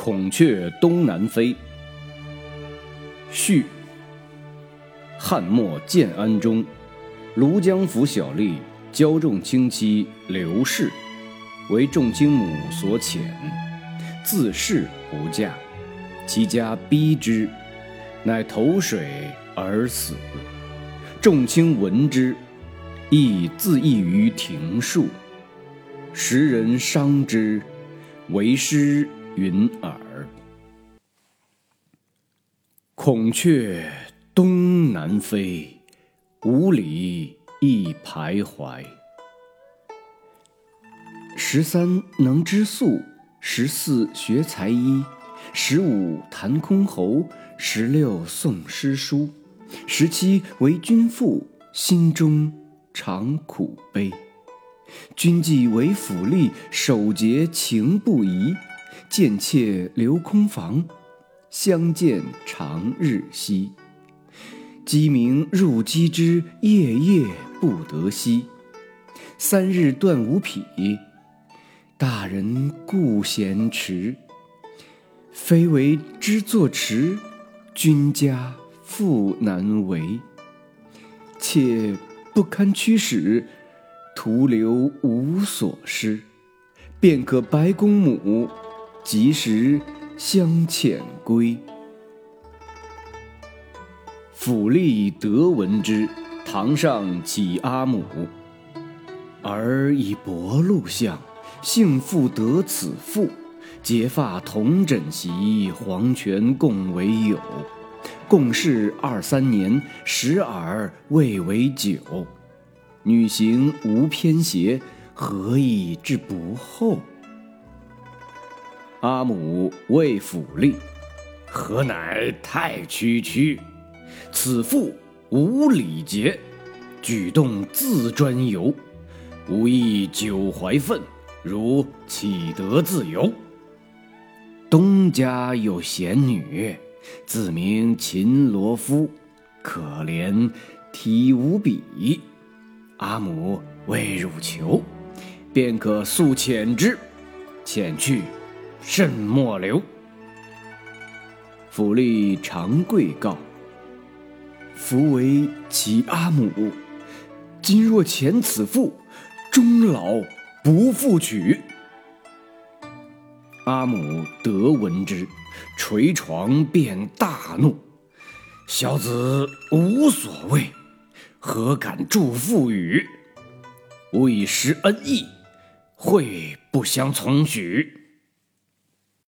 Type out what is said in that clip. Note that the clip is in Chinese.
孔雀东南飞。序。汉末建安中，庐江府小吏焦仲卿妻刘氏，为仲卿母所遣，自恃不嫁，其家逼之，乃投水而死。仲卿闻之，亦自缢于庭树。时人伤之，为诗云耳。孔雀东南飞，五里一徘徊。13能织素，14学才艺，15弹箜篌，16诵诗书，17为君妇，心中常苦悲。君既为府吏，守节情不移，见妾留空房，相见长日夕。鸡鸣入鸡之，夜夜不得息。3日断无匹，大人故闲迟。非为知作迟，君家复难为。妾不堪驱使，徒留无所施。便可白公母，及时相遣归。府吏得闻之，堂上启阿母。儿以薄禄相，幸复得此妇。结发同枕席，黄泉共为友。共事2-3年，时而未为久。女行无偏邪，何以至不厚？阿母谓府吏：何乃太区区？此妇无礼节，举动自专游，无益久怀愤，如岂得自由？东家有贤女，自名秦罗夫，可怜体无比。阿母为汝求，便可速遣之，遣去甚莫留。府吏长跪告：夫为其阿母，今若遣此妇，终老不复娶。阿母得闻之，捶床便大怒：小子无所谓，何敢助妇语？吾以施恩义，会不相从许。